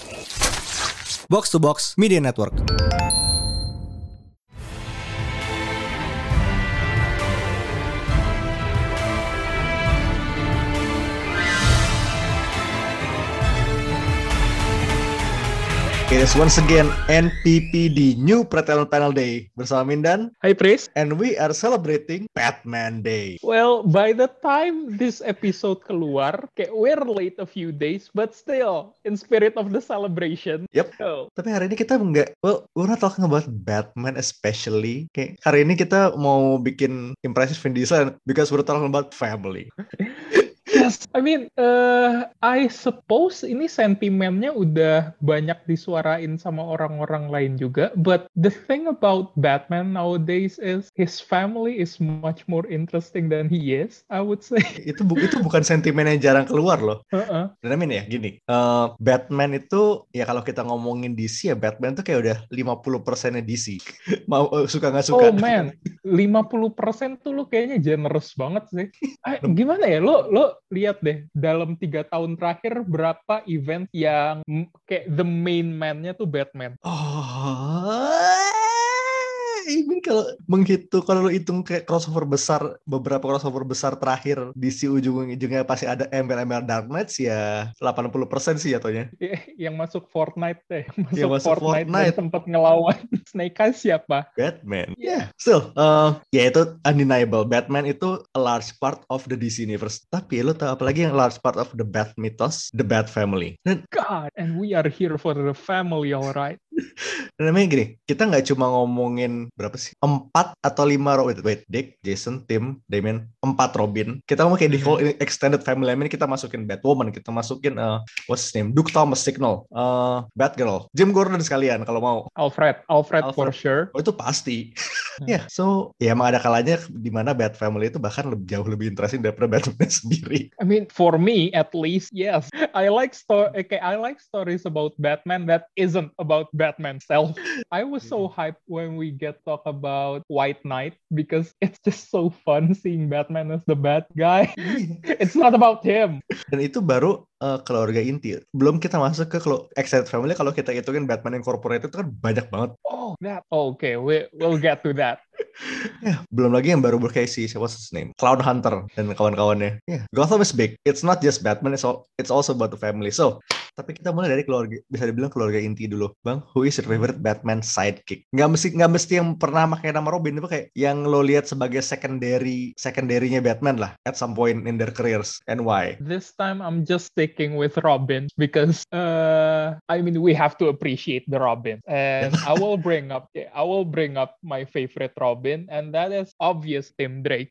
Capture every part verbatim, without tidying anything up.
Box to Box Media Network. It is once again N P P D New Pretelan Panel Day bersama Mindan. Hi Pris. And we are celebrating Batman Day. Well, by the time this episode keluar, kayak we're late a few days, but still in spirit of the celebration. Yep. Oh. Tapi hari ini kita nggak, well, we're not talking about Batman especially. Kayak hari ini kita mau bikin impresif Vin Diesel because we're talking about family. Yes, I mean, uh, I suppose ini sentimennya udah banyak disuarain sama orang-orang lain juga. But the thing about Batman nowadays is his family is much more interesting than he is, I would say. Itu bu- itu bukan sentimen yang jarang keluar loh. Uh-uh. Dan I mean ya, gini, uh, Batman itu ya kalau kita ngomongin D C ya Batman tuh kayak udah lima puluh persennya D C. Mau uh, suka nggak suka. Oh man, lima puluh persen tuh lu kayaknya generous banget sih. Ah, gimana ya, lo lo lihat deh dalam tiga tahun terakhir berapa event yang m- kayak the main man-nya tuh Batman. Oh, ini kalau menghitung, kalau lu hitung kayak crossover besar, beberapa crossover besar terakhir D C ujung-ujungnya pasti ada embel-embel Dark Knight ya delapan puluh persen sih jatuhnya. Yang masuk Fortnite deh, masuk, Yang masuk Fortnite, Fortnite. dan sempat ngelawan Snake Eyes siapa? Batman. Yeah. Still, uh, ya itu undeniable. Batman itu a large part of the D C universe. Tapi lu tahu apa lagi yang large part of the Bat mythos, the Bat family. Dan God, and we are here for the family, alright. Dan namanya gini, kita nggak cuma ngomongin berapa sih? Empat atau lima Robin. Wait, Dick, Jason, Tim, Damian, empat Robin. Kita ngomong kayak di whole extended family. I mean, kita masukin Batwoman, kita masukin uh, what's his name? Duke Thomas, Signal, uh, Batgirl, Jim Gordon sekalian kalau mau. Alfred, Alfred, Alfred. for sure. Oh itu pasti. Ya, yeah, so ya emang ada kalanya di mana Bat family itu bahkan lebih, jauh lebih interesting daripada Batman sendiri. I mean, for me at least, yes. I like sto- okay, I like stories about Batman that isn't about Batman self. I was so hyped when we get talk about White Knight because it's just so fun seeing Batman as the bad guy. It's not about him. Dan itu baru uh, keluarga inti. Belum kita masuk ke kalau extended family, kalau kita hitungin Batman Incorporated itu kan banyak banget. Oh, that. Okay, we we'll get to that. Ya, belum lagi yang baru berkayak si siapa his name, Clown Hunter dan kawan-kawannya. Ya, yeah. Gotham is big. It's not just Batman, it's all, it's also about the family. So, tapi kita mulai dari keluarga, bisa dibilang keluarga inti dulu, Bang. Who is your favorite Batman sidekick? Nggak mesti nggak mesti yang pernah pakai nama Robin, itu kayak yang lo lihat sebagai secondary secondary-nya Batman lah at some point in their careers, and why? This time I'm just sticking with Robin because uh, I mean we have to appreciate the Robin, and I will bring up I will bring up my favorite Robin, and that is obvious Tim Drake.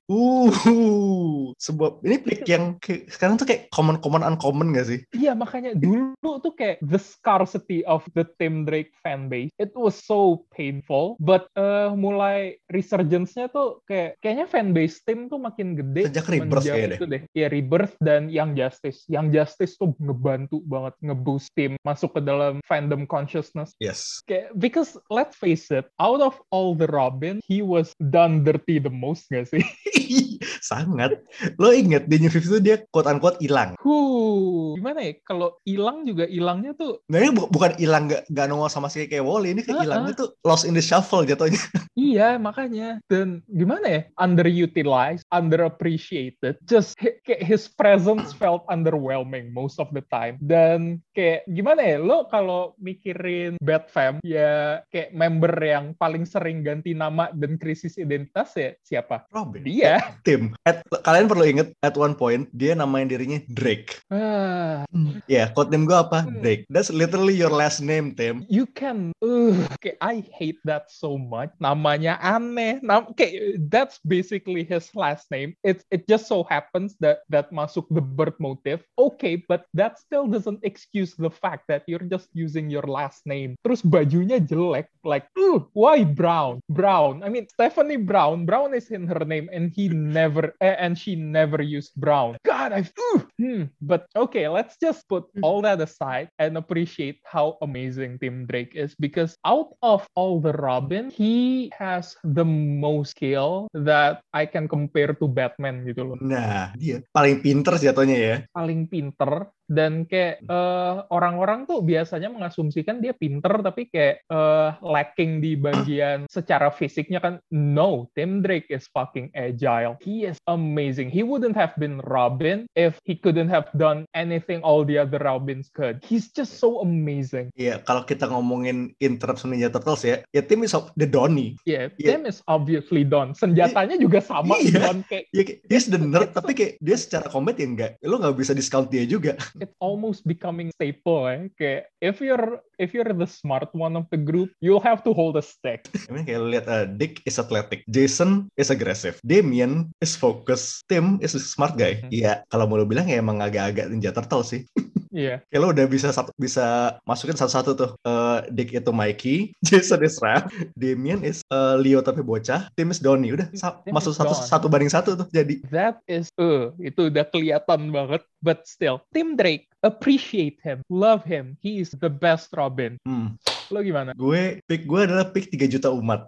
Uh, sebuah ini pick yang kayak, sekarang tuh kayak common-common uncommon gak sih? Iya, makanya dulu tuh kayak the scarcity of the Tim Drake fanbase. It was so painful, but uh, mulai resurgence-nya tuh kayak kayaknya fanbase Tim tuh makin gede sejak Rebirth kayaknya itu deh. Iya, Rebirth dan Young Justice. Young Justice tuh ngebantu banget ngeboost Tim masuk ke dalam fandom consciousness. Yes. Kayak, because let's face it, out of all the Robin, he was done dirty the most gak sih? Sangat. Lo inget di New fifty itu dia quote-unquote hilang. Huh, gimana ya? Kalau hilang juga hilangnya tuh. Nah ini bu- bukan hilang gak, gak nongol sama si kayak Wally. Ini kayak hilangnya Uh-uh. tuh lost in the shuffle jatuhnya. Iya, makanya. Dan gimana ya? Underutilized, underappreciated. Just kayak his presence felt underwhelming most of the time. Dan kayak gimana ya? Lo kalau mikirin Batfam, ya kayak member yang paling sering ganti nama dan krisis identitas ya siapa? Robin. Dia. Tim. At, kalian perlu inget at one point dia namain dirinya Drake. Ah. Ya, yeah, code name gue apa? Hmm. Drake. That's literally your last name, Tim. You can, uh, kayak I hate that so much. Namanya aneh. Nam, kayak that's basically his last name. It it just so happens that that masuk the birth motive. Okay, but that still doesn't excuse the fact that you're just using your last name. Terus bajunya jelek, like, uh, why brown? Brown. I mean, Stephanie Brown. Brown is in her name, and he never, uh, and she never used brown. God, I've, uh, hmm. But okay, let's just put all that aside and appreciate how amazing Tim Drake is, because out of all the Robin, he has the most skill that I can compare to Batman gitu loh. Nah, dia paling pinter jatuhnya ya. Paling pinter, Dan kayak uh, orang-orang tuh biasanya mengasumsikan dia pinter tapi kayak uh, lacking di bagian secara fisiknya kan. No, Tim Drake is fucking agile. He is amazing. He wouldn't have been Robin if he couldn't have done anything all the other Robins could. He's just so amazing. Iya, kalau kita ngomongin in terms of Ninja Turtles ya, ya Tim is the Donnie. Yeah, yeah. Tim is obviously Don. Senjatanya juga sama iya. Don kayak. Iya, he's the nerd tapi kayak dia secara combat ya enggak. Lo nggak bisa discount dia juga. It's almost becoming staple eh. Kayak if you're if you're the smart one of the group, you'll have to hold a stick. I mean kayak lihat uh, Dick is athletic, Jason is aggressive, Damien is focus, Tim is a smart guy. Iya, hmm. kalau mau lo bilang ya emang agak-agak Ninja Turtle sih. Iya. Yeah. Kayak lo udah bisa satu, bisa masukin satu-satu tuh. Uh, Dick itu Mikey, Jason is Raph, Damien is uh, Leo tapi bocah, Tim is Donnie. Udah sa- masuk satu Don. satu banding satu tuh jadi. That is uh itu udah kelihatan banget. But still, Tim Drake, appreciate him, love him. He is the best Robin. Hmm. Lo gimana? Gue, pick gue adalah pick tiga juta umat.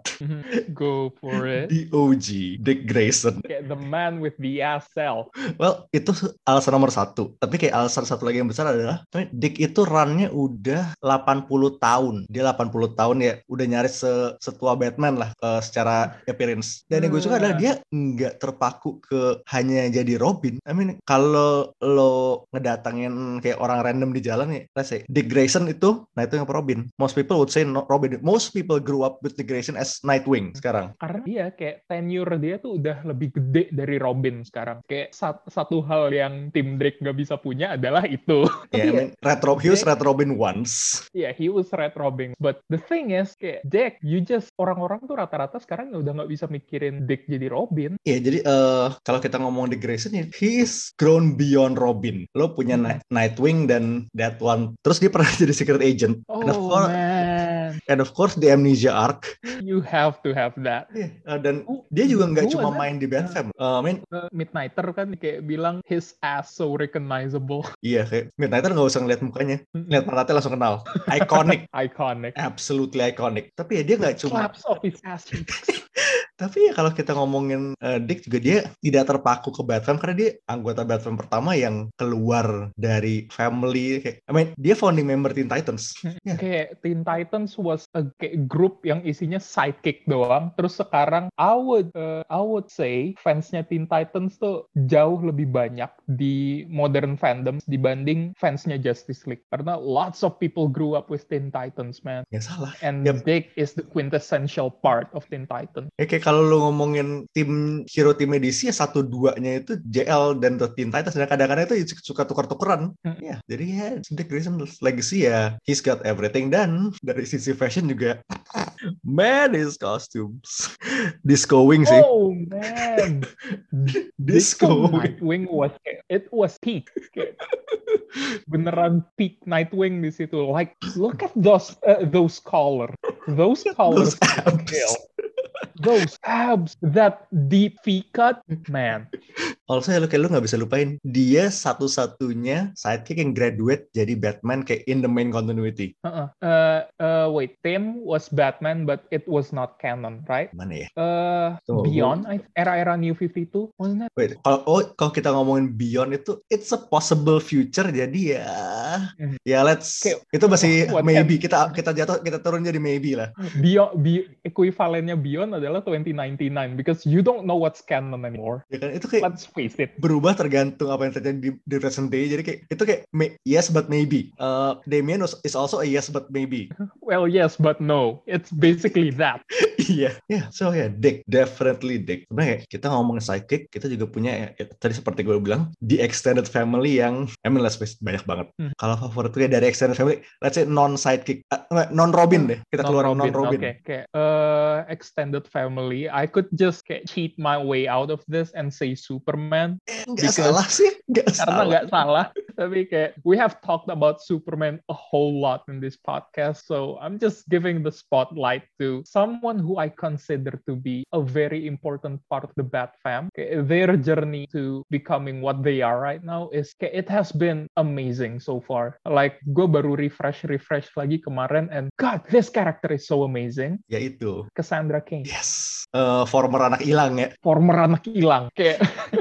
Go for it. The O G, Dick Grayson. Kayak the man with the ass cell. Well, itu alasan nomor satu. Tapi kayak alasan satu lagi yang besar adalah Dick itu run-nya udah delapan puluh tahun. Dia delapan puluh tahun ya, udah nyaris se- setua Batman lah uh, secara appearance. Dan yang gue suka adalah dia nggak terpaku ke hanya jadi Robin. I mean, kalau lo ngedatangin kayak orang random di jalan ya, let's say, Dick Grayson itu, nah itu yang Robin. Most people would say no, Robin. Most people grew up with Dick Grayson as Nightwing sekarang. Karena dia kayak tenure dia tuh udah lebih gede dari Robin sekarang. Kayak sat- satu hal yang Tim Drake gak bisa punya adalah itu. Yeah, I mean, Red Rob, he was Red Robin once. Yeah, he was Red Robin. But the thing is, kayak Dick, you just, orang-orang tuh rata-rata sekarang udah gak bisa mikirin Dick jadi Robin. Iya, yeah, jadi uh, kalau kita ngomong Dick Grayson, he is grown beyond Robin. Lo punya hmm. Nightwing dan that one. Terus dia pernah jadi secret agent. Oh, and of course, man. And of course, the Amnesia arc. You have to have that. Yeah, uh, dan uh, dia juga nggak cuma that? main di Batman. Uh, I mean, uh, Midnighter kan kayak bilang his ass so recognizable. Iya, kayak Midnighter nggak usah ngeliat mukanya. Lihat pantatnya langsung kenal. Iconic. Iconic. Absolutely iconic. Tapi ya dia nggak cuma... Claps of his ass cheeks. Tapi ya kalau kita ngomongin uh, Dick juga dia tidak terpaku ke Batman karena dia anggota Batman pertama yang keluar dari family. Kayak, I mean, dia founding member Teen Titans. Yeah. Kayak Teen Titans was a kayak group yang isinya sidekick doang. Terus sekarang I would uh, I would say fansnya Teen Titans tuh jauh lebih banyak di modern fandoms dibanding fansnya Justice League. Karena lots of people grew up with Teen Titans, man. Ya salah. And yep. Dick is the quintessential part of Teen Titans. Ya, kayak kalau lu ngomongin tim hero tim edisi ya satu duanya itu J L dan The Teen Titans dan kadang-kadang itu suka tukar-tukeran. Hmm. Ya, jadi ya Dick Grayson legacy ya he's got everything. Dan dari sisi fashion juga man his costumes disco wing sih. Oh man. Disco Nightwing was it was peak. Beneran peak Nightwing di situ. Like look at those uh, those collar. Those collars. Those abs. Those abs, that deep V-cut, man. Also ya lu kayak lu gak bisa lupain dia satu-satunya sidekick yang graduate jadi Batman kayak in the main continuity. Uh-uh. Uh, uh, wait, Tim was Batman but it was not canon, right? Mana ya? Uh, Tuh, Beyond, gue... era-era New fifty-two, wasn't it? Wait, kalau oh, kalau kita ngomongin Beyond itu it's a possible future jadi ya mm-hmm. ya let's okay. Itu masih oh, maybe can... kita kita jatuh kita turun jadi maybe lah. Beyond, be, equivalennya Beyond adalah twenty ninety-nine because you don't know what's canon anymore. Ya kan itu kayak let's face it. Berubah tergantung apa yang terjadi di, di present day. Jadi kayak itu kayak may, yes but maybe. Uh, Damien is also a yes but maybe. Well yes but no. It's basically that. Iya. yeah. yeah. So yeah, Dick, definitely Dick. Sebenarnya kita ngomongin sidekick, kita juga punya ya, ya, tadi seperti gue bilang the extended family yang I mean let's face banyak banget. Hmm. Kalau favorit gue dari extended family, let's say non sidekick, uh, non Robin deh. Kita keluar non Robin. Oke. Okay. Okay. Uh, extended family, I could just kayak cheat my way out of this and say Superman. Nggak salah sih. Nggak karena salah. Nggak salah. Tapi kayak we have talked about Superman a whole lot in this podcast, so I'm just giving the spotlight to someone who I consider to be a very important part of the Bat fam. Kayak their journey to becoming what they are right now is kayak it has been amazing so far. Like gue baru refresh refresh lagi kemarin and God, this character is so amazing. Ya itu. Cassandra Cain. Yes. Uh, former anak hilang ya. Former anak hilang. Kayak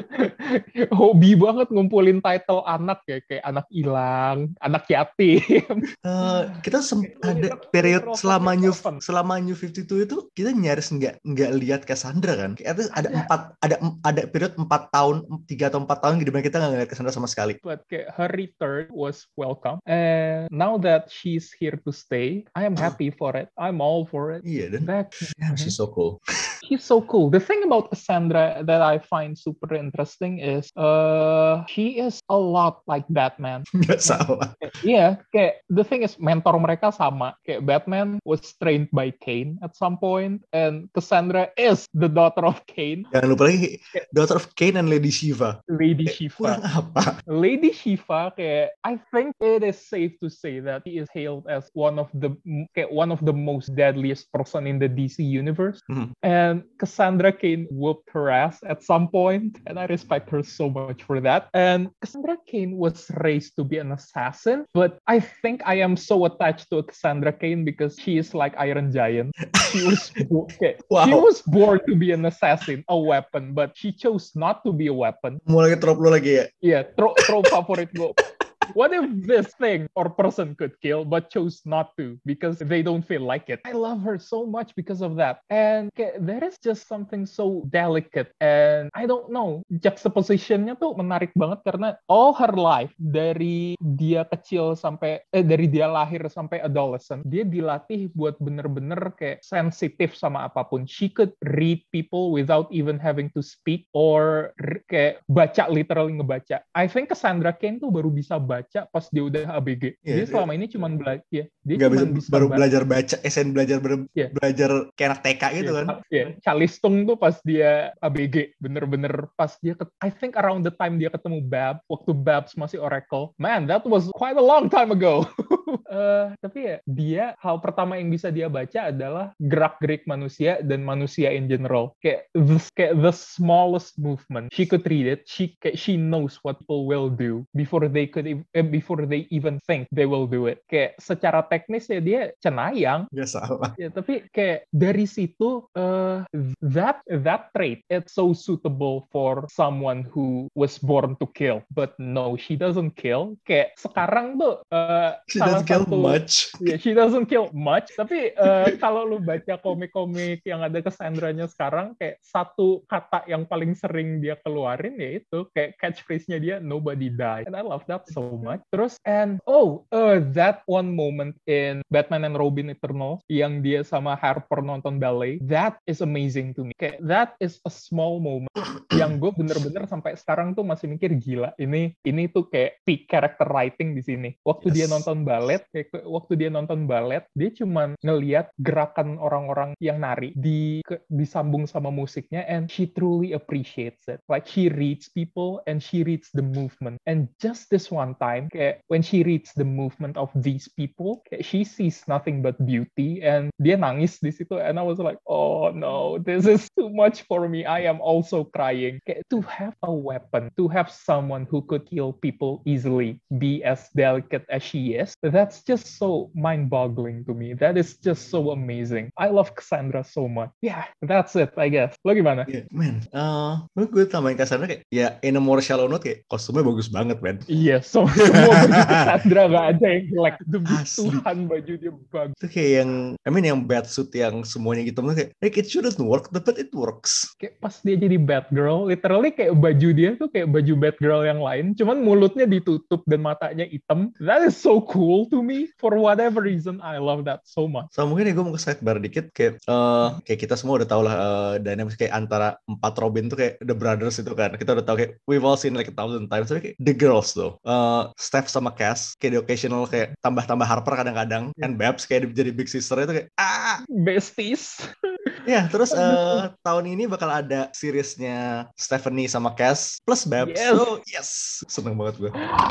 Hobi banget ngumpulin title anak ya, kayak anak hilang, anak yatim. Uh, kita sem- ada Literal- period literal selama fucking New orphan. selama New fifty two itu kita nyaris nggak nggak lihat Cassandra kan? Kayak ada empat ada ada period empat tahun tiga atau empat tahun di mana kita nggak ngeliat Cassandra sama sekali. But kayak her return was welcome, and now that she's here to stay, I am happy for it. I'm all for it. Iya dan Back. yeah, she's so cool. She's so cool. The thing about Cassandra that I find super interesting is uh she is a lot like Batman. Nggak salah. Iya, kayak the thing is mentor mereka sama. Kayak Batman was trained by Kane at some point, and Cassandra is the daughter of Kane. Jangan lupa lagi daughter of Kane and Lady Shiva. Lady Kayak, Shiva. Kurang apa? Lady Shiva, kayak I think it is safe to say that he is hailed as one of the kayak one of the most deadliest person in the D C universe. Hmm. And Cassandra Kane whooped her ass at some point, and I respect her so much for that. And Cassandra Kane was raised to be an assassin, but I think I am so attached to Cassandra Kane because she is like Iron Giant. She was okay. Wow. She was born to be an assassin, a weapon, but she chose not to be a weapon. Mulai trop lu lagi ya? Iya, tro tro favorit gue. What if this thing or person could kill but chose not to because they don't feel like it? I love her so much because of that. And kayak, there is just something so delicate and I don't know, juxtapositionnya tuh menarik banget karena all her life dari dia kecil sampai eh dari dia lahir sampai adolescent, dia dilatih buat bener-bener kayak sensitif sama apapun. She could read people without even having to speak or kayak baca, literally ngebaca. I think Cassandra Kane tuh baru bisa baca baca pas dia udah A B G. Yeah, dia selama ini cuma belajar, ya, dia cuma bisa, bisa baru baca. belajar baca, S N belajar ber, yeah. belajar kayak anak T K gitu yeah. kan. Iya, yeah. Calistung tuh pas dia A B G, bener-bener pas dia, I think around the time dia ketemu Bab, waktu Babs masih Oracle. Man, that was quite a long time ago. uh, tapi ya, dia, hal pertama yang bisa dia baca adalah gerak-gerik manusia dan manusia in general. Kayak the, kayak the smallest movement. She could read it. She, kayak, she knows what people will do before they could eh, before they even think they will do it. Kayak secara teknis ya dia cenayang. Ya salah. Ya, tapi kayak dari situ uh, that that trait it's so suitable for someone who was born to kill. But no, she doesn't kill. Kayak sekarang tuh uh, she salah doesn't kill satu, much. Yeah, she doesn't kill much. Tapi uh, kalau lu baca komik-komik yang ada Cassandranya sekarang, kayak satu kata yang paling sering dia keluarin ya itu kayak catchphrase-nya dia, nobody die. And I love that so much. Terus and oh uh, that one moment in Batman and Robin Eternal yang dia sama Harper nonton ballet, that is amazing to me. Kayak that is a small moment yang gue bener-bener sampai sekarang tuh masih mikir gila ini ini tuh kayak peak character writing di sini. Waktu yes. dia nonton ballet, kayak waktu dia nonton ballet dia cuman ngelihat gerakan orang-orang yang nari di ke, disambung sama musiknya and she truly appreciates it. Like she reads people and she reads the movement. And just this one time, kayak when she reads the movement of these people, kayak she sees nothing but beauty and dia nangis di situ and I was like, oh no, this is too much for me. I am also crying. Kayak to have a weapon, to have someone who could kill people easily, be as delicate as she is, that's just so mind-boggling to me. That is just so amazing. I love Cassandra so much. Yeah, that's it, I guess. Lo gimana? Yeah, man, uh, gue tambahin Cassandra kayak, ya in a more shallow note kayak kostumnya bagus banget, man. Iya, yeah, so, semua baju Cassandra gak ada yang jelek. Demi Tuhan baju dia bagus. Itu kayak yang, I mean yang batsuit yang semuanya gitu, kayak, like it shouldn't work, but it works. Kayak pas dia jadi Batgirl, literally kayak baju dia tuh kayak baju Batgirl yang lain, cuman mulutnya ditutup dan matanya hitam. That is so cool to me. For whatever reason, I love that so much. So mungkin ya gue mau ke sidebar dikit, kayak, uh, kayak kita semua udah tau lah uh, dynamics kayak antara empat Robin tuh kayak The Brothers itu kan. Kita udah tau kayak, we've all seen like a thousand times, tapi kayak the girls tuh. Uh, Steph sama Cass, kayak di occasional kayak tambah-tambah Harper kadang-kadang, yeah. And Babs kayak jadi big sister itu kayak, ah! Besties. Ya, yeah, terus uh, tahun ini bakal ada seriesnya Stephanie sama Cass plus Babs. Yes. So, yes. Seneng banget gue.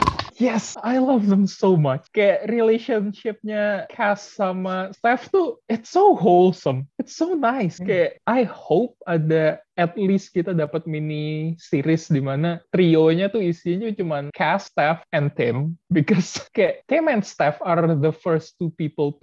Yes, I love them so much. Kayak relationship-nya Cass sama Steph tuh, it's so wholesome. It's so nice. Kayak, I hope ada at least kita dapat mini series di mana trionya tuh isinya cuman Cass, Steph, and Tim. Because kayak Tim and Steph are the first two people to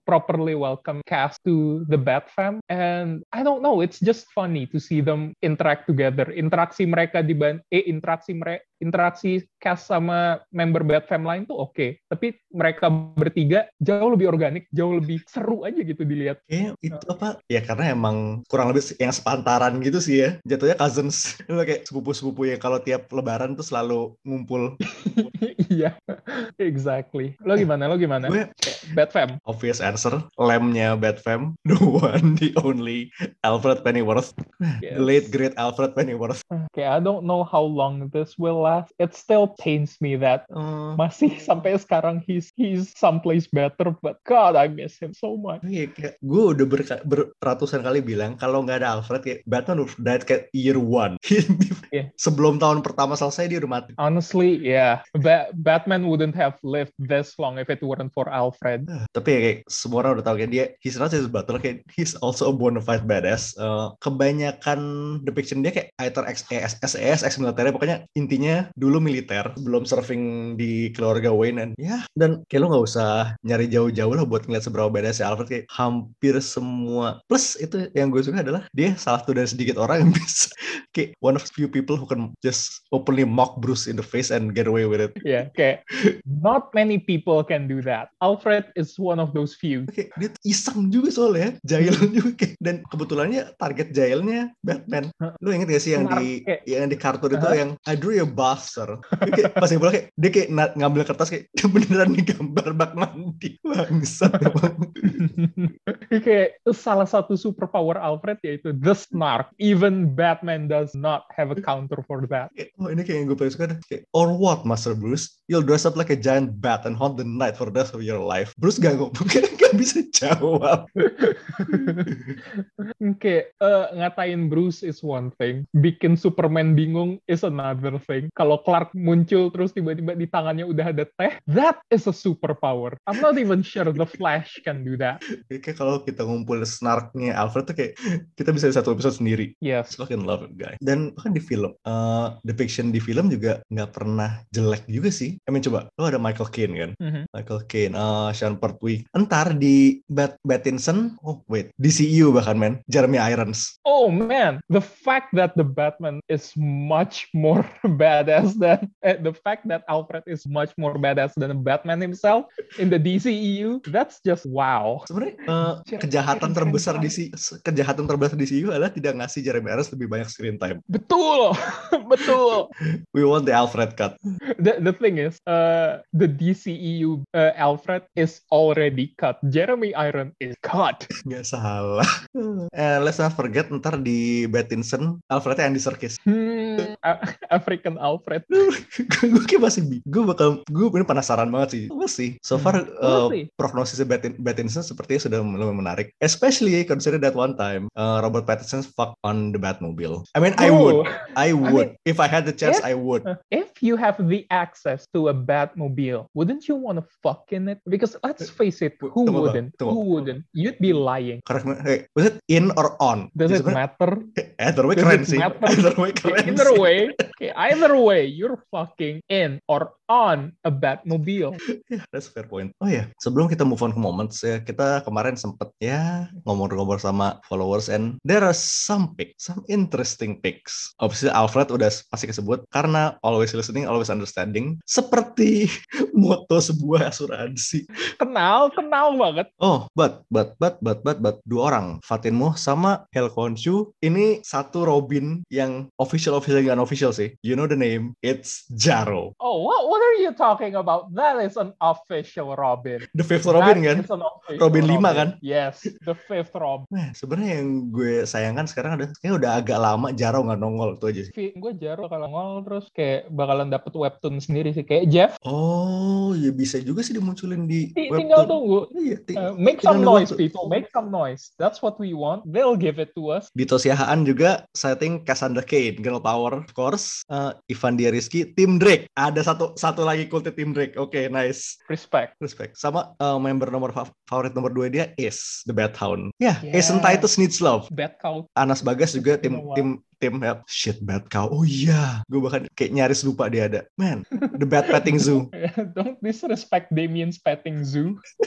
properly welcome cast to the Bat Fam, and I don't know, it's just funny to see them interact together. Interaksi mereka di ban eh interaksi mereka interaksi cast sama member Bat Fam lain tuh oke, okay. Tapi mereka bertiga jauh lebih organik, jauh lebih seru aja gitu dilihat. Kayak itu apa? Ya karena emang kurang lebih yang sepantaran gitu sih ya. Jatuhnya cousins. Itu kayak sepupu-sepupu yang kalau tiap lebaran tuh selalu ngumpul. Iya, exactly. Lo gimana? Lo gimana? Gue Bat Fam. Obvious answer, lamb-nya Bat Fam, the one, the only Alfred Pennyworth, Yes. the late great Alfred Pennyworth. Okay, I don't know how long this will last. It still pains me that Uh, masih sampai sekarang he's he's someplace better, but God, I miss him so much. Iya, kayak gue udah ber- beratusan kali bilang kalau nggak ada Alfred kayak Batman udah died kayak year one. Yeah. Sebelum tahun pertama selesai dia udah mati. Honestly, yeah, ba- Batman wouldn't have lived this long if it weren't for Alfred. Uh, tapi ya kayak semua orang udah tahu kayak dia he's not just a butler, kayak he's also a bona fide badass. Uh, kebanyakan depiction dia kayak either ex S E S, ex militer, pokoknya intinya dulu militer sebelum serving di keluarga Wayne, dan ya dan kayak lo nggak usah nyari jauh-jauh lah buat ngeliat seberapa badass ya Alfred. Kayak hampir semua, plus itu yang gue suka adalah dia salah satu dari sedikit orang yang bisa kayak one of few people who can just openly mock Bruce in the face and get away with it. Yeah, kayak not many people can do that. Alfred is one of those few. Kayak dia iseng juga soalnya, jahil juga kayak, dan kebetulannya target jahilnya Batman. Lu inget gak sih yang di Kayak, yang di kartun itu uh-huh. yang I drew a buster. Kayak pas dia bola kayak dia kayak na- ngambil kertas kayak beneran nih gambar bak mandi. Bangsat emang. Kayak salah satu superpower Alfred yaitu the snark. Even Batman does not have a counter for that. Oh, ini kayak yang gue paling suka deh. Kayak, or what, Master Bruce? You'll dress up like a giant bat and haunt the night for the rest of your life. Bruce gak ngomong, gak bisa jawab. Kayak uh, ngatain Bruce is one thing, bikin Superman bingung is another thing. Kalau Clark muncul terus tiba-tiba di tangannya udah ada teh, that is a superpower. I'm not even sure the Flash can do that. Kayak kalau kita ngumpul snarknya Alfred tuh kayak kita bisa di satu episode sendiri. Yes. I fucking love it, guy. Dan bahkan di film, uh, depiction di film juga nggak pernah jelek juga sih. I mean, coba, lo ada Michael Caine kan? Mm-hmm. Michael Caine, uh, Sean Pertwee. Entar di Bat Pattinson, oh wait, D C U bahkan, man, Jeremy Irons. Oh man, the fact that the Batman is much more badass than uh, the fact that Alfred is much more badass than Batman himself in the D C E U, that's just wow. Sebenarnya uh, kejahatan terbesar di si kejahatan terbesar di D C U adalah tidak ngasih Jeremy Irons lebih banyak screen time. Betul, betul. We want the Alfred cut. The the thing is, uh, the D C E U uh, Alfred is already cut. Jeremy Irons is cut. Nggak salah. And let's not forget ntar di Pattinson Alfrednya Andy Serkis. Hmm, African Alfred. Gue kayak masih gue bakal gue ini penasaran banget sih. We'll see. So far Hmm. uh, We'll see. prognosisnya Pattin- Pattinson sepertinya sudah lumayan menarik. Especially consider that one time uh, Robert Pattinson fuck on the Batmobile. I mean, I Oh. would, I would. mean, If I had the chance, if- I would. If you have the access to a Batmobile, wouldn't you want to fuck in it? Because let's face it, who Tunggu, Bang. wouldn't? Tunggu. Who wouldn't? You'd be lying. Correct me. Hey, was it in or on? Does Jadi it sebenarnya- matter? Either way Does keren it sih. matter? Either way keren Either sih. way, okay, either way, you're fucking in or on a Batmobile. Yeah, that's a fair point. Oh ya, yeah. Sebelum kita move on ke moments ya, kita kemarin sempet ya ngomong-ngomong sama followers, and there are some pics, some interesting pics. Obviously Alfred udah pasti kesebut karena always listening, always understanding, seperti moto sebuah asuransi. Kenal, kenal banget. Oh, but, but, but, but, but, but, dua orang, Fatin Muh sama Hel Khonshu. Ini satu Robin yang official, official, yang unofficial sih. You know the name, it's Jarro. Oh, what, what are you talking about? That is an official Robin. The fifth Robin That kan? is an official Robin lima kan? Yes, the fifth Robin. Nah, sebenarnya yang gue sayangkan sekarang ada, kayaknya udah agak lama Jarro nggak nongol, itu aja sih. Gue Jarro kalau ngol terus kayak bakalan dapet webtoon sendiri sih. Kayak Jeff. Oh, ya bisa juga sih dimunculin di T- webtoon. tinggal tunggu. Iya, ti- Uh, make tinggal some nunggu noise, tuh. people. Make some noise. That's what we want. They'll give it to us. Di Tosiahaan juga setting Cassandra Cain, Girl Power, of course. Uh, Ivan Diarizky, Tim Drake. Ada satu satu lagi kultnya Tim Drake. Oke, okay, nice. Respect. Respect. Sama uh, member nomor fa- favorit nomor dua dia Ace, the Bat Hound. Ya, yeah, Yeah. Ace and Titus needs love. Bad cow. Anas Bagas juga tim Wow. tim tim ya, shit Bat Cow. Oh iya, gue bahkan kayak nyaris lupa dia ada. Man, the Bat Petting Zoo. Don't disrespect Damien's petting zoo.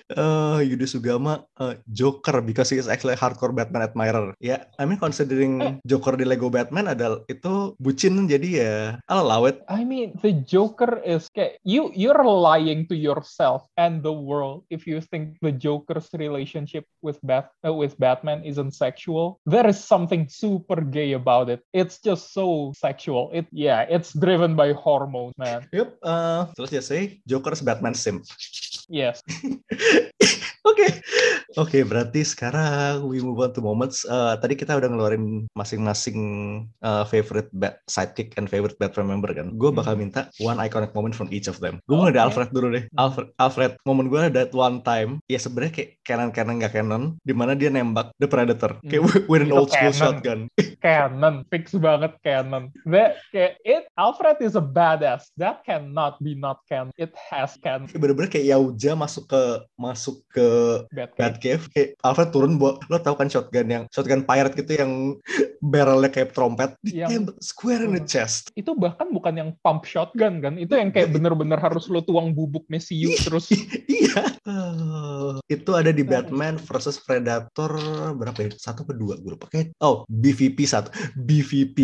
uh, Yuda Sugama uh, Joker because he is actually a hardcore Batman admirer. Ya, yeah, I mean considering Joker di Lego Batman adalah itu bucin, jadi ya I'll allow it. I mean, the Joker is kayak you you're lying to yourself and the world if you think the Joker's relationship with Bat uh, with Batman isn't sexual. There is something super gay about it. It's just so sexual. It yeah, it's driven by hormones, man. Yep. Uh, terus ya say Joker's Batman sim. Yes. Oke, okay. Oke, okay, berarti sekarang we move on to moments. Uh, tadi kita udah ngeluarin masing-masing uh, favorite bat sidekick and favorite Batman member kan. Gue bakal minta one iconic moment from each of them. Gue mulai dari Alfred dulu deh. Alfred, Alfred, momen gue ada that one time. Ya sebenarnya kayak canon-canon nggak canon, di mana dia nembak The Predator, kayak hmm. with an old school shotgun. Canon, fix banget canon. That kayak it, Alfred is a badass. That cannot be not canon. It has canon. Bener-bener kayak Yauja masuk ke masuk ke Batcave. Batcave. Kayak Alfred turun buat, lo tau kan shotgun yang shotgun pirate gitu yang barrelnya kayak trompet, yang square in the chest. Itu bahkan bukan yang pump shotgun kan, itu yang kayak bener-bener harus lo tuang bubuk mesiu terus. Iya. Uh, itu ada di Batman versus Predator berapa ya? Satu atau dua gue lupa. Kayak oh B V P satu, B V P.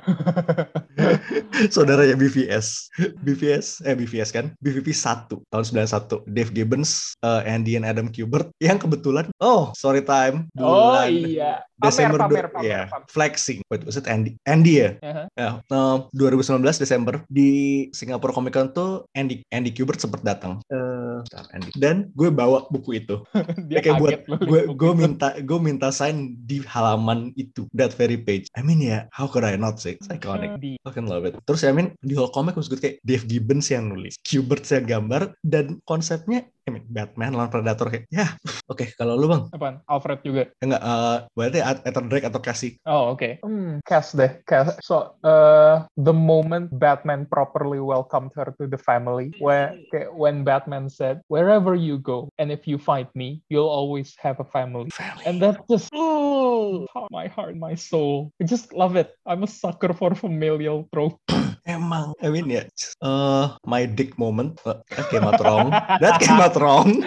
Saudaranya B V S, B V S eh B V S kan, B V P satu tahun sembilan puluh satu. Dave Gibbons, uh, Andy and Adam Kubert yang kebetulan oh sorry time bulan oh iya Desember pamer, pamer, ya pamer. flexing. Wait, was it Andy? Andy ya? Uh-huh. Ya. Uh, dua ribu sembilan belas Desember di Singapore Comic Con tuh Andy Andy Kubert sempat datang. Uh, Andy. Dan gue bawa buku itu. Dia kayak buat gue gue itu. minta gue minta sign di halaman itu, that very page. I mean ya, yeah, how could I not say? It's iconic. I fucking love it. Terus I mean di whole comic was good, kayak Dave Gibbons yang nulis, Kubert yang gambar, dan konsepnya I mean, Batman lawan Predator kayak ya. Oke, okay, kalau lu bang? Apaan? Alfred juga? Enggak, uh, berarti Ethan Drake atau Cassie? Oh oke. Okay. Hmm, Cass deh. Cass. So uh, the moment Batman properly welcomed her to the family, where when Batman said, "Wherever you go, and if you find me, you'll always have a family," family. And that just oh, my heart, my soul. I just love it. I'm a sucker for familial trope. Emang, I mean ya, yeah, uh, my dick moment, uh, that came out wrong. That came out wrong.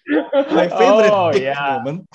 My favorite oh, dick yeah. moment.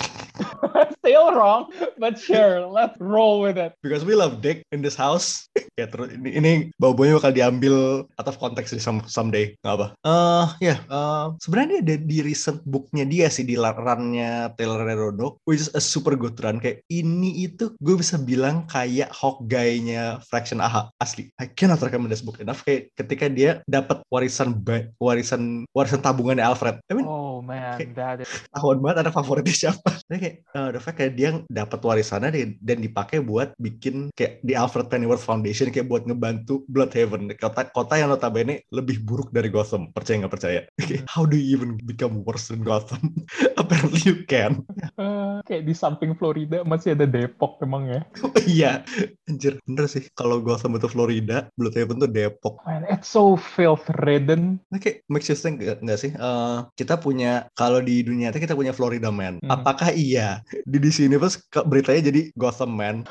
Still wrong, but sure, let's roll with it. Because we love dick in this house. Ya terus ini, ini bau-baunya bakal diambil out of context some, someday, nggak apa? Uh, ya, yeah, uh, sebenarnya dia di recent booknya dia sih di runnya Taylor Redondo, which is a super good run. Kayak ini itu gue bisa bilang kayak Hawkeye-nya Fraction A H asli. I cannot recommend this book enough. Kayak ketika dia dapat warisan warisan warisan tabungannya Alfred. I mean, oh man, that is tahun banget anak favoritnya siapa? Jadi kayak uh, the fact kayak dia dapat warisannya dan dipakai buat bikin kayak di Alfred Pennyworth Foundation, kayak buat ngebantu Bloodhaven, kota kota yang notabene lebih buruk dari Gotham. Percaya nggak percaya? How do you even become worse than Gotham? Apparently you can. Uh, kayak di samping Florida masih ada Depok emang ya. Iya, anjir bener sih. Kalau Gotham itu Florida, Bloodhaven tuh Depok. Man, it's so filth ridden. Nah, kayak makes you think nggak sih? Uh, kita punya kalau di dunia nyata kita punya Florida Man. Hmm. Apakah iya di D C Universe beritanya jadi Gotham Man?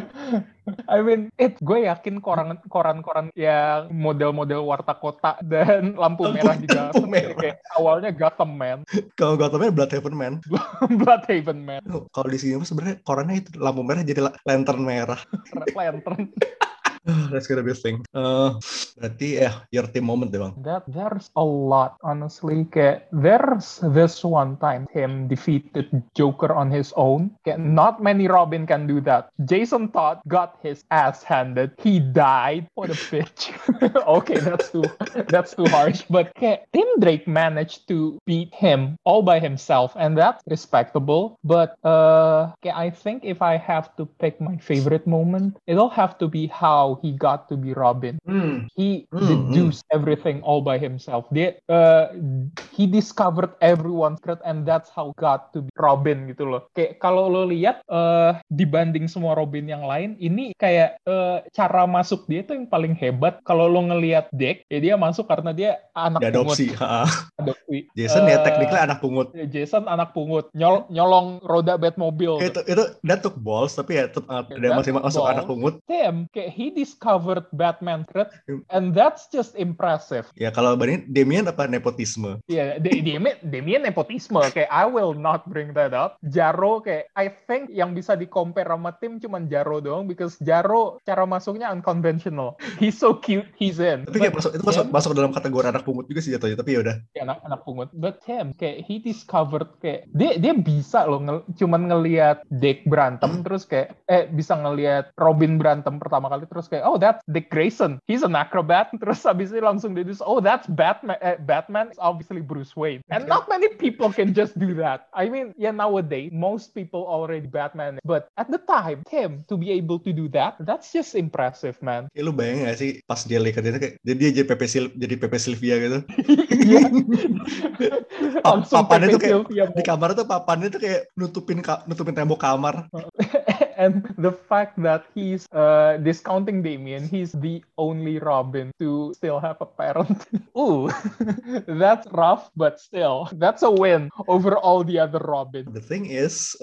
I mean, it gue yakin koran koran-koran yang model-model warta kota dan lampu merah juga kayak awalnya Gotham Man. Kalau Gotham Man Bloodhaven Man. Bloodhaven Man. Oh, kalau di sini sebenarnya korannya itu lampu merah jadi lantern merah. Lantern. That's gonna be a thing. Uh, berarti ya, yeah, your team moment deh bang. That there's a lot, honestly. Kayak there's this one time him defeated Joker on his own. Kayak not many Robin can do that. Jason Todd got his ass handed. He died. What a bitch. Okay, that's too that's too harsh. But kayak Tim Drake managed to beat him all by himself, and that's respectable. But uh, kayak I think if I have to pick my favorite moment, it'll have to be how he got to be Robin. Mm. He mm, deduced mm. everything all by himself. Dia, uh, he discovered everyone's secret, and that's how got to be Robin gitu loh. Kayak kalau lo lihat uh, dibanding semua Robin yang lain, ini kayak uh, cara masuk dia tuh yang paling hebat. Kalau lo ngelihat Dick, ya dia masuk karena dia anak adopsi. pungut. Adopsi. Jason uh, ya technically anak pungut. Jason anak pungut, Nyol, nyolong roda Batmobile. Itu itu that took balls, tapi ya tetap uh, dia masih masuk balls. Anak pungut. Tim, kayak he discovered Batman threat, and that's just impressive. Ya kalau bandingin Damian apa nepotisme? Ya, yeah, Damian, Damian nepotisme. Kayak I will not bring that up. Jaro kayak I think yang bisa di-compare sama tim cuman Jaro doang, because Jaro cara masuknya unconventional. He's so cute, he's in. Tapi kayak masuk, itu masuk, masuk dalam kategori anak pungut juga sih jatuhnya, tapi ya udah. Ya, anak anak pungut. But him kayak he discovered kayak dia dia bisa loh ngel, cuman ngelihat Dick berantem terus kayak eh bisa ngelihat Robin berantem pertama kali terus kayak oh that's Dick Grayson, he's an acrobat, terus habis itu langsung deduce oh that's Batman. Eh, Batman is obviously Bruce Wayne, and not many people can just do that. I mean, yeah, nowadays most people already Batman, but at the time him to be able to do that, that's just impressive, man. Ya lu bayangin gak sih pas dia Lakers itu kayak jadi dia jadi Pepe Sil jadi Pepe Sylvia gitu. Iya. Langsung papannya Pepe tuh kayak Sylvia. Di kamar tuh papannya tuh kayak nutupin nutupin tembok kamar. And the fact that he's uh, discounting Damian, he's the only Robin to still have a parent. Ooh, that's rough, but still, that's a win over all the other Robin. The thing is,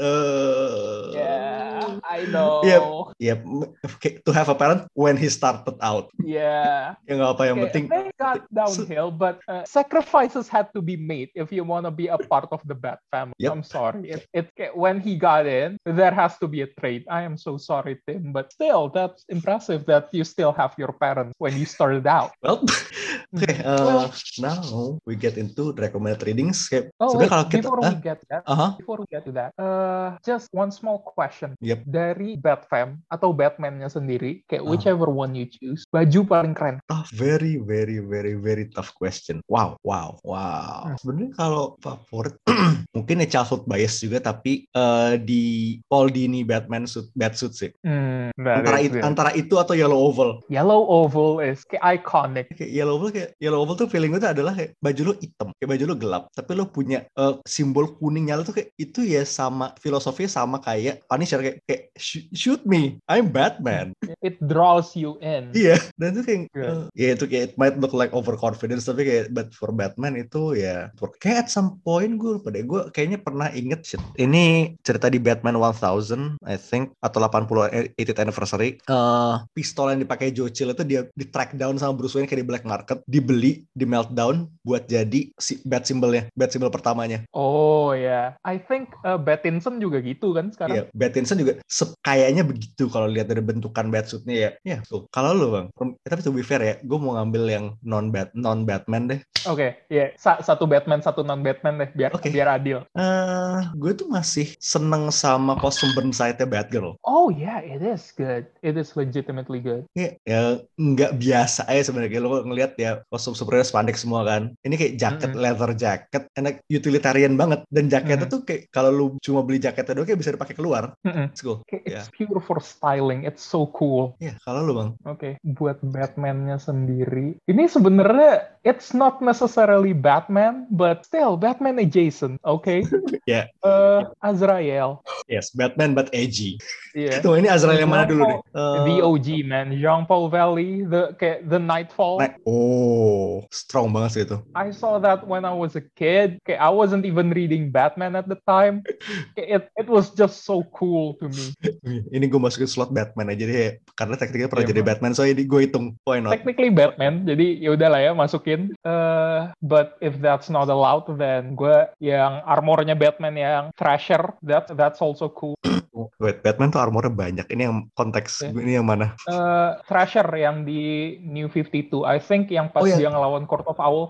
uh, yeah, I know. Yeah, yeah, to have a parent when he started out. Yeah. Ya nggak apa yang okay, penting. They got downhill, but uh, sacrifices had to be made if you want to be a part of the Bat family. Yep. I'm sorry. It, it when he got in, there has to be a trade. I am so sorry, Tim, but still, that's impressive that you still have your parents when you started out. Well, okay. Uh, well, now we get into the recommended readings. Okay. Oh, wait, kalau kita, before huh? we get that, uh-huh. before we get to that, uh, just one small question. Yep. Dari Batfam atau Batman-nya sendiri, kayak uh-huh. whichever one you choose, baju paling keren. Tough, very, very, very, very tough question. Wow, wow, wow. Hmm. Sebenarnya kalau favorit, mungkin ya childhood bias juga, tapi uh, di Paul Dini Batman suit, Batsuit sih. Hmm, antara, it, antara itu atau Yellow Oval. Yellow Oval is kayak iconic. Kayak Yellow Oval kayak Yellow Oval tuh feeling gue tuh adalah kayak baju lo hitam, kayak baju lo gelap, tapi lo punya uh, simbol kuning nyala tuh kayak itu ya sama filosofinya sama kayak Punisher kayak, kayak shoot me, I'm Batman. It draws you in. Iya, dan itu kayak uh, ya itu kayak it might look like overconfidence tapi kayak but for Batman itu ya kayak at some point gue lupa deh, gue kayaknya pernah inget shit. Ini cerita di Batman one thousand I think atau eighty eightieth anniversary, uh, pistol yang dipakai Joe Chill itu dia di track down sama Bruce Wayne kayak di black market, dibeli, di meltdown buat jadi si bat symbolnya, bat symbol pertamanya. Oh ya, yeah. I think uh, Battinson juga gitu kan sekarang. Iya, yeah, Battinson juga se- kayaknya begitu kalau lihat dari bentukan batsuitnya ya. Ya, yeah, so. Kalau lu bang, tapi to be fair ya, gue mau ngambil yang non bat non Batman deh. Oke, okay, ya yeah. Sa- satu Batman, satu non Batman deh, biar okay. biar adil. Uh, gue tuh masih seneng sama kostum Burnside-nya Batgirl. Oh yeah, it is good. It is legitimately good. Ya, ya nggak biasa aja sebenarnya. Lo ngelihat ya kostum superhero spandex semua kan. Ini kayak jaket mm-hmm. leather jacket, enak utilitarian banget. Dan jaketnya mm-hmm. tuh kayak kalau lu cuma beli jaketnya doang kayak bisa dipakai keluar. Mm-hmm. It's cool. It's yeah. pure for styling. It's so cool. Ya, yeah, kalau lu bang. Oke, okay. Buat Batman-nya sendiri, ini sebenarnya it's not necessarily Batman, but still Batman adjacent. Oke. Okay? Ya. yeah. Uh, Azrael. Yes, Batman but edgy. Iya. Yeah. Tuh ini Azrael yang mana dulu nih? Uh, the O G man, Jean-Paul Valley, the kayak the Nightfall. Night- oh, strong banget sih itu. I saw that when I was a kid. Kayak I wasn't even reading Batman at the time. It it was just so cool to me. Ini gue masukin slot Batman aja deh, karena tekniknya pernah yeah, jadi man. Batman, so ini gue hitung. Why not? Technically Batman, jadi ya udahlah ya masukin. Uh, but if that's not allowed, then gue yang armornya Batman yang Thrasher, that that's also cool. Wait, Batman tuh armornya banyak. Ini yang konteks, yeah. Ini yang mana? Uh, Thrasher yang di New fifty-two. I think yang pas oh, yeah. dia ngelawan Court of Owls.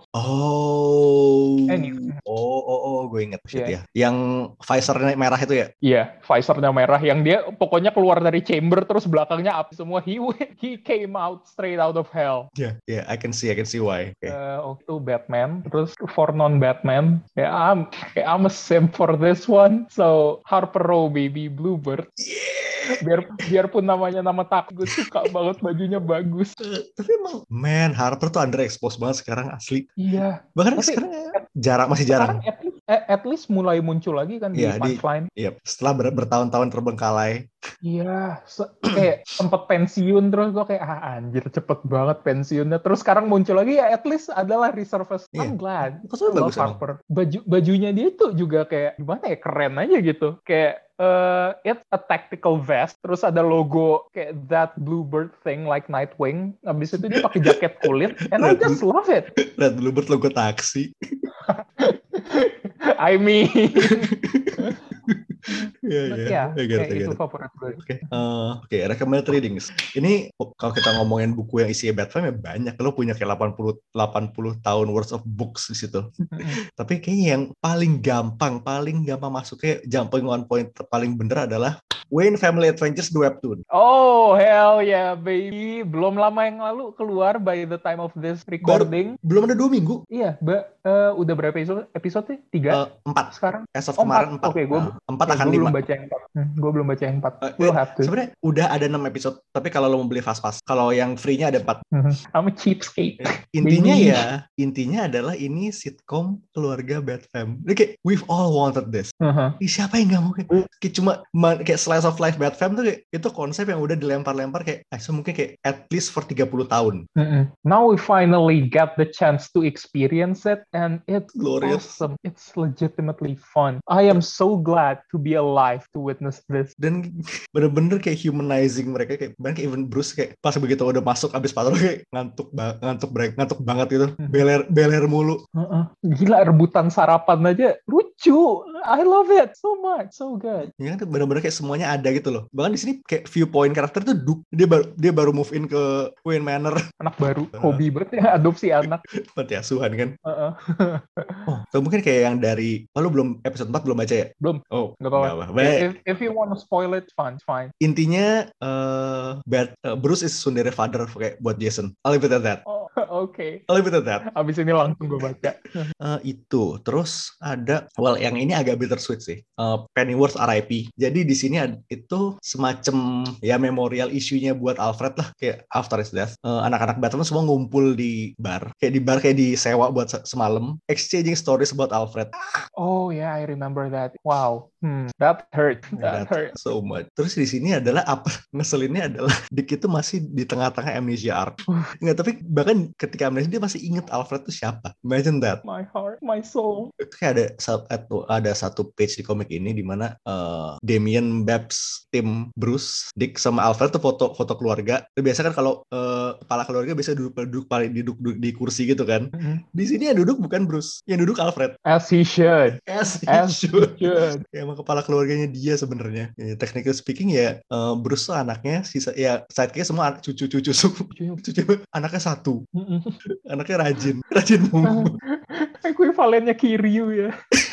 Oh. Anyway. Oh, oh, oh, gue inget. Shit, yeah. ya. Yang visornya merah itu ya? Iya, yeah, visornya merah. Yang dia pokoknya keluar dari chamber terus belakangnya api semua. He he came out straight out of hell. Yeah, yeah, I can see, I can see why. Okay. Uh, itu Batman. Terus for non-Batman, ya yeah, I'm, I'm a simp for this one. So Harper Row, baby, Bluebird. Yeah. Biar biarpun namanya nama tak, gue suka banget bajunya bagus. Uh, tapi emang, man, Harper tuh underexposed banget sekarang asli. Iya. Bahkan tapi, sekarang jarak masih jarang. Sekarang at least, eh, at least mulai muncul lagi kan di Iya, di Punchline. Iya, setelah ber- bertahun-tahun terbengkalai. Iya, se- kayak sempet pensiun terus gue kayak ah anjir cepet banget pensiunnya. Terus sekarang muncul lagi ya at least adalah resurface. Iya. I'm glad. I Kostumnya love bagus emang. Harper. Baju bajunya dia tuh juga kayak gimana ya keren aja gitu. Kayak uh, it's a tactical vest, terus ada logo kayak that bluebird thing like Nightwing. Habis itu dia pakai jaket kulit, and I Red just Blue- love it. Red Bluebird logo taksi. I mean, Iya, but iya. yeah, I get it, kayak I get itu it. favorit gue. Oke, eh, oke, recommended readings. Ini oh, kalau kita ngomongin buku yang isinya Batman ya banyak. Lo punya kayak delapan puluh delapan puluh tahun worth of books di situ. Tapi kayaknya yang paling gampang, paling gampang masuknya jumping on point paling bener adalah Wayne Family Adventures the Webtoon. Oh hell yeah baby, belum lama yang lalu keluar by the time of this Baru, recording. belum ada dua minggu. Iya, ba- eh, udah berapa episode? Episode Tiga Eh, empat. sekarang? As of Oh, kemarin empat. Oke, gue Nah, empat eh, akan gue lima. belum baca yang empat. Hmm, gue belum baca yang empat. Eh, We'll eh, have to. Sebenarnya udah ada enam episode, tapi kalau lo mau beli fast pass, kalau yang free-nya ada empat. I'm a cheapskate. Intinya Baby. ya, intinya adalah ini sitcom keluarga Batman. Ini kayak we've all wanted this. Uh-huh. Ih, siapa yang nggak mau kayak, kayak cuma ma- kayak slice of life Batman tuh kayak itu konsep yang udah dilempar-lempar kayak ah, so mungkin kayak at least for tiga puluh tahun. Mm-mm. Now we finally get the chance to experience it, and it's Glorious. awesome. It's legitimately fun. I am so glad to be alive to witness this. Dan bener-bener kayak humanizing mereka kayak bahkan kayak even Bruce kayak pas begitu udah masuk abis patroli kayak ngantuk ba- ngantuk bre- ngantuk banget gitu. Beler beler mulu. Uh-uh. Gila, rebutan sarapan aja lucu. I love it so much, so good. Ya kan bener-bener kayak semuanya ada gitu loh. Bahkan di sini kayak viewpoint karakter tuh Duke. Dia baru dia baru move in ke Wayne Manor. Anak baru, hobi banget ya adopsi anak. Panti asuhan kan. Uh-uh. Oh, atau mungkin kayak yang dari oh, lu belum episode empat belum baca ya? Belum. Oh, Nggak apa-apa. nggak apa-apa. If, if you want to spoil it, fine, fine. Intinya uh, Bat, uh, Bruce is tsundere father kayak buat Jason. I'll leave it at that. Oh, oke. Okay. I'll leave it at that. Abis ini langsung gue baca. Uh, itu terus ada well yang ini agak bittersweet sih. Uh, Pennyworth R I P. Jadi di sini ada, itu semacam ya memorial isunya buat Alfred lah kayak after his death. Uh, anak-anak Batman semua ngumpul di bar. Kayak di bar kayak disewa buat se- semalam exchanging stories about Alfred. Oh yeah, I remember that. Wow. Hmm, that hurt. That, That hurt. so much. Terus di sini adalah apa ngeselinnya adalah Dick itu masih di tengah-tengah amnesia arc. Enggak, tapi bahkan ketika amnesia dia masih inget Alfred itu siapa. Imagine that. My heart, my soul. Kayak ada satu ada satu page di komik ini di mana uh, Damien, Babs, Tim, Bruce, Dick sama Alfred tuh foto foto keluarga. Biasa kan kalau uh, kepala keluarga biasa duduk duduk paling duduk, duduk di kursi gitu kan. Mm-hmm. Di sini yang duduk bukan Bruce, yang duduk Alfred. As he should. As he As should. he should. Ya, emang kepala keluarganya dia sebenarnya. Ya, technically speaking ya uh, Bruce tuh anaknya sisa ya sidekicknya semua cucu-cucu cucu anaknya satu. Mm-hmm. Anaknya rajin, rajin mulu. Ekuivalennya Kiryu ya.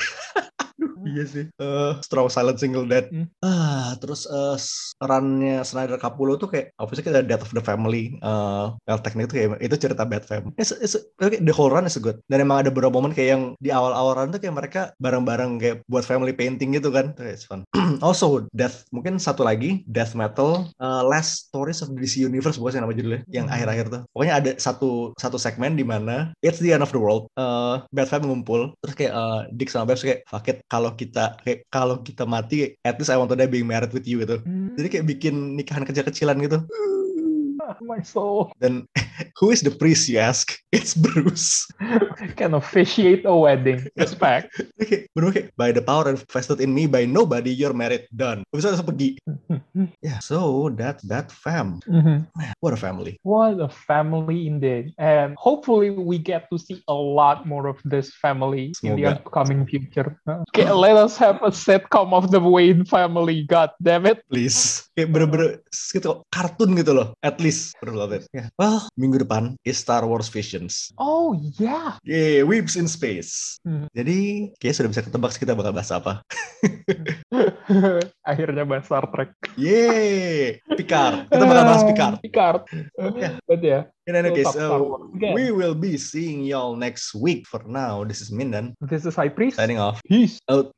Iya sih. Uh, strong silent single dad. Hmm. Ah, terus uh, runnya Snyder Capullo tuh kayak obviously kita Death of the Family. Uh, well, teknik itu kayak itu cerita Bat Fam. It's, it's, okay, the whole run is good. Dan emang ada beberapa momen kayak yang di awal-awal run tuh kayak mereka bareng-bareng kayak buat family painting gitu kan. It's fun. Also Death, mungkin satu lagi Death Metal uh, Last Stories of the D C Universe bukan sih nama judulnya yang hmm. akhir-akhir tuh. Pokoknya ada satu satu segmen di mana it's the end of the world. Uh, Bat Fam ngumpul terus kayak uh, Dick sama Babs kayak fuck it, kalau kita kayak kalau kita mati at least I want to die being married with you gitu. Hmm. Jadi kayak bikin nikahan kecil-kecilan gitu. My soul. Then who is the priest you ask? It's Bruce. Can officiate a wedding. Respect. Okay, bener kayak by the power invested in me by nobody you're married, done. Bisa langsung pergi. Yeah, so that that fam. Mm-hmm. Man, what a family. What a family indeed. And hopefully we get to see a lot more of this family Semoga. in the upcoming future. Okay, let us have a sitcom of the Wayne family. God damn it. Please. Kayak bener-bener gitu, kartun gitu loh. At least. It. Yeah. Well, minggu depan is Star Wars Visions. Oh yeah. Yeah, Weeps in Space. Hmm. Jadi kayaknya sudah bisa ketebak kita bakal bahas apa. Akhirnya bahas Star Trek. Yeay, Picard. Kita bakal bahas Picard. Picard. Yeah. But yeah. In any case, uh, we will be seeing y'all next week. For now, this is Mindan. This is High Priest. Signing off. Peace. Out.